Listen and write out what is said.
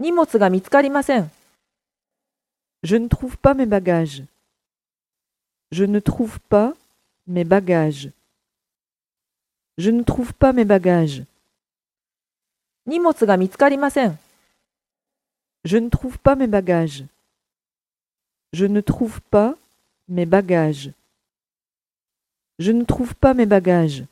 荷物が見つかりません。 Je ne trouve pas mes bagages. Je ne trouve pas mes bagages. Je ne trouve pas mes bagages. 荷物が見つかりません。 Je ne trouve pas mes bagages. Je ne trouve pas mes bagages. Je ne trouve pas mes bagages.